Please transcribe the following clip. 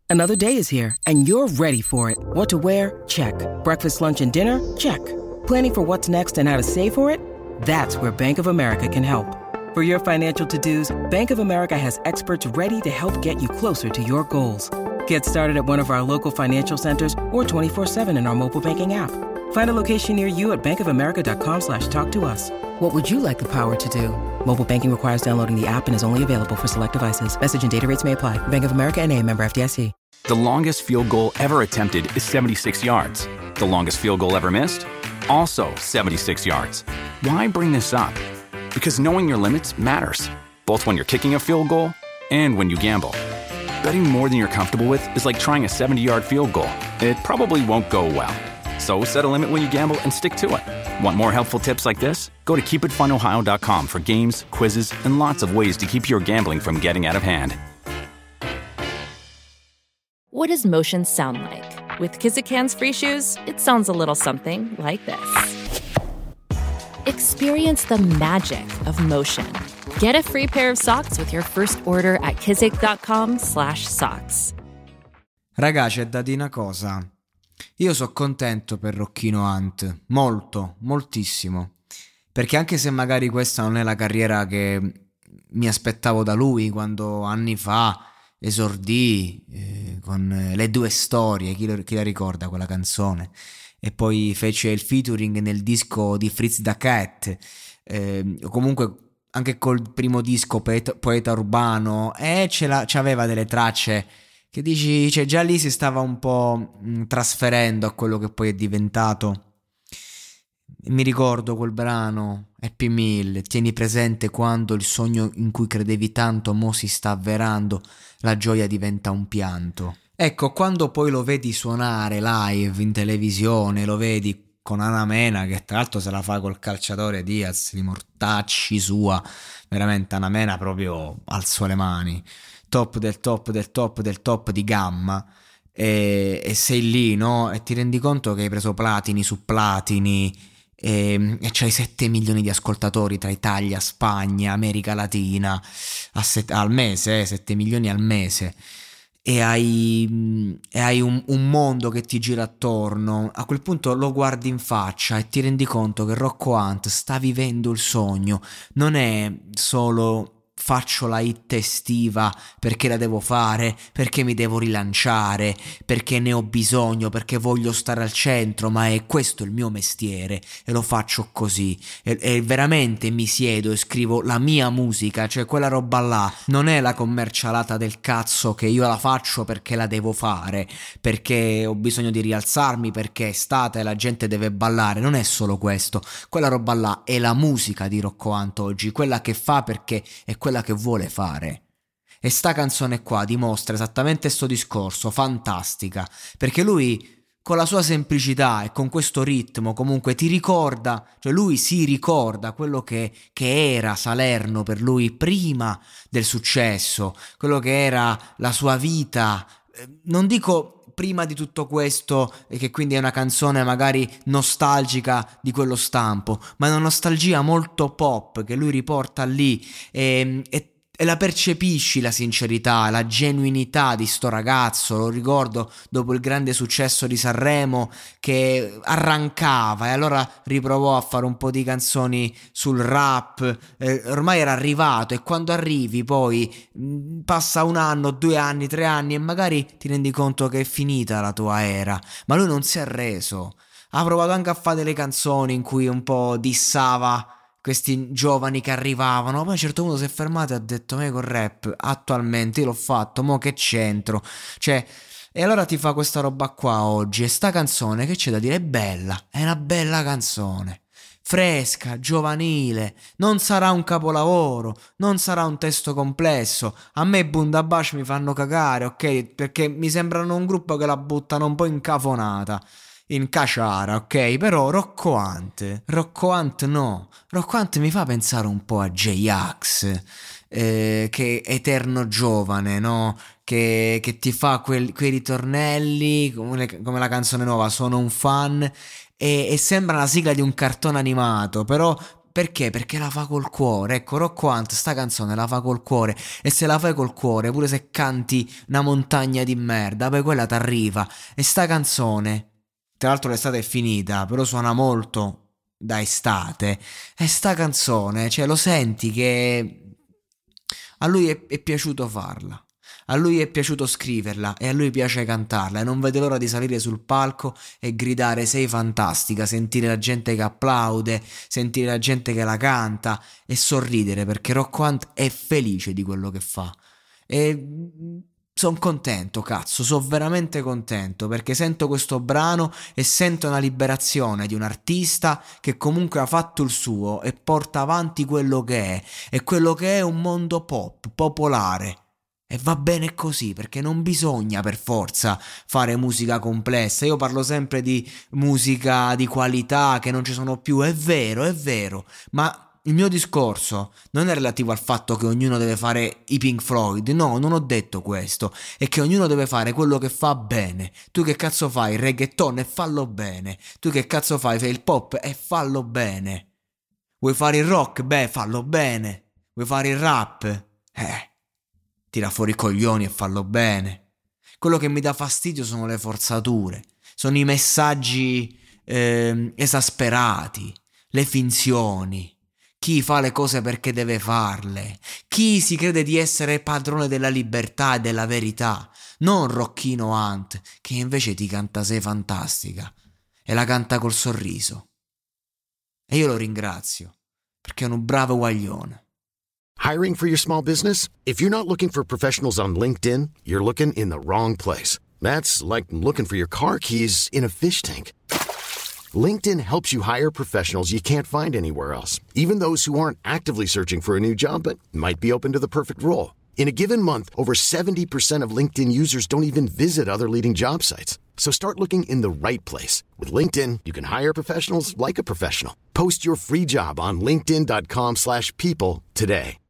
Another day is here, and you're ready for it. What to wear? Check. Breakfast, lunch, and dinner? Check. Planning for what's next and how to save for it? That's where Bank of America can help. For your financial to-dos, Bank of America has experts ready to help get you closer to your goals. Get started at one of our local financial centers or 24/7 in our mobile banking app. Find a location near you at bankofamerica.com/talktous. What would you like the power to do? Mobile banking requires downloading the app and is only available for select devices. Message and data rates may apply. Bank of America N.A., member FDIC. The longest field goal ever attempted is 76 yards. The longest field goal ever missed? Also 76 yards. Why bring this up? Because knowing your limits matters, both when you're kicking a field goal and when you gamble. Betting more than you're comfortable with is like trying a 70-yard field goal. It probably won't go well. So set a limit when you gamble and stick to it. Want more helpful tips like this? Go to keepitfunohio.com for games, quizzes, and lots of ways to keep your gambling from getting out of hand. What does motion sound like? With Kizikans free shoes, it sounds a little something like this. Experience the magic of motion. Get a free pair of socks with your first order at kizik.com/socks. Raga, c'è da dire una cosa. Io sono contento per Rocchino Hunt, molto, moltissimo. Perché anche se magari questa non è la carriera che mi aspettavo da lui quando anni fa esordì con Le Due Storie, chi la ricorda quella canzone? E poi fece il featuring nel disco di Fritz da Cat, comunque anche col primo disco Poeta Urbano, c'aveva delle tracce che dici, cioè già lì si stava un po' trasferendo a quello che poi è diventato. Mi ricordo quel brano Happy Meal, tieni presente quando il sogno in cui credevi tanto mo si sta avverando, la gioia diventa un pianto. Ecco, quando poi lo vedi suonare live in televisione, lo vedi con Ana Mena, che tra l'altro se la fa col calciatore Diaz, di mortacci sua, veramente Ana Mena proprio alzò le mani, top del top del top del top di gamma, e sei lì, no? E ti rendi conto che hai preso platini su platini, e c'hai 7 milioni di ascoltatori tra Italia, Spagna, America Latina al mese, 7 milioni al mese, e hai un mondo che ti gira attorno. A quel punto lo guardi in faccia e ti rendi conto che Rocco Hunt sta vivendo il sogno. Non è solo faccio la hit estiva perché la devo fare, perché mi devo rilanciare, perché ne ho bisogno, perché voglio stare al centro, ma è questo il mio mestiere e lo faccio così, e veramente mi siedo e scrivo la mia musica, cioè quella roba là non è la commercialata del cazzo che io la faccio perché la devo fare, perché ho bisogno di rialzarmi, perché è estate e la gente deve ballare. Non è solo questo, quella roba là è la musica di Rocco Hunt oggi, quella che fa perché è quella che vuole fare. E sta canzone qua dimostra esattamente sto discorso, fantastica, perché lui con la sua semplicità e con questo ritmo comunque ti ricorda, cioè lui si ricorda quello che era Salerno per lui prima del successo, quello che era la sua vita, non dico prima di tutto questo, e che quindi è una canzone magari nostalgica di quello stampo, ma è una nostalgia molto pop che lui riporta lì, e la percepisci la sincerità, la genuinità di sto ragazzo. Lo ricordo dopo il grande successo di Sanremo che arrancava e allora riprovò a fare un po' di canzoni sul rap, ormai era arrivato, e quando arrivi poi passa 1 anno, 2 anni, 3 anni e magari ti rendi conto che è finita la tua era, ma lui non si è arreso. Ha provato anche a fare delle canzoni in cui un po' dissava questi giovani che arrivavano, poi a un certo punto si è fermato e ha detto: me col rap attualmente io l'ho fatto, mo che c'entro, cioè, e allora ti fa questa roba qua oggi. E sta canzone, che c'è da dire, è bella, è una bella canzone, fresca, giovanile, non sarà un capolavoro, non sarà un testo complesso. A me Bundabash mi fanno cagare, ok, perché mi sembrano un gruppo che la buttano un po' incafonata, in caciara, ok? Però Rocco Hunt no. Rocco Hunt mi fa pensare un po' a J-Ax, che eterno giovane, no? Che ti fa quei ritornelli come la canzone nuova Sono un fan, e sembra la sigla di un cartone animato, però Perché? Perché la fa col cuore. Ecco, Rocco Hunt sta canzone la fa col cuore, e se la fai col cuore, pure se canti una montagna di merda, poi quella t'arriva. E sta canzone, tra l'altro l'estate è finita, però suona molto da estate, e sta canzone, cioè lo senti che a lui è piaciuto farla. A lui è piaciuto scriverla e a lui piace cantarla, e non vede l'ora di salire sul palco e gridare sei fantastica, sentire la gente che applaude, sentire la gente che la canta e sorridere, perché Rocco Hunt è felice di quello che fa. E sono contento, cazzo, sono veramente contento, perché sento questo brano e sento una liberazione di un artista che comunque ha fatto il suo e porta avanti quello che è, e quello che è un mondo pop, popolare. E va bene così, perché non bisogna per forza fare musica complessa. Io parlo sempre di musica di qualità, che non ci sono più, è vero, ma il mio discorso non è relativo al fatto che ognuno deve fare i Pink Floyd, no, non ho detto questo, è che ognuno deve fare quello che fa bene. Tu che cazzo fai il reggaeton e fallo bene, tu che cazzo fai il pop e fallo bene, vuoi fare il rock? Beh, fallo bene, vuoi fare il rap? Tira fuori i coglioni e fallo bene. Quello che mi dà fastidio sono le forzature, sono i messaggi esasperati, le finzioni, chi fa le cose perché deve farle, chi si crede di essere padrone della libertà e della verità, non Rocchino Hunt, che invece ti canta sei fantastica e la canta col sorriso. E io lo ringrazio, perché è un bravo guaglione. Hiring for your small business? If you're not looking for professionals on LinkedIn, you're looking in the wrong place. That's like looking for your car keys in a fish tank. LinkedIn helps you hire professionals you can't find anywhere else, even those who aren't actively searching for a new job but might be open to the perfect role. In a given month, over 70% of LinkedIn users don't even visit other leading job sites. So start looking in the right place. With LinkedIn, you can hire professionals like a professional. Post your free job on linkedin.com/people today.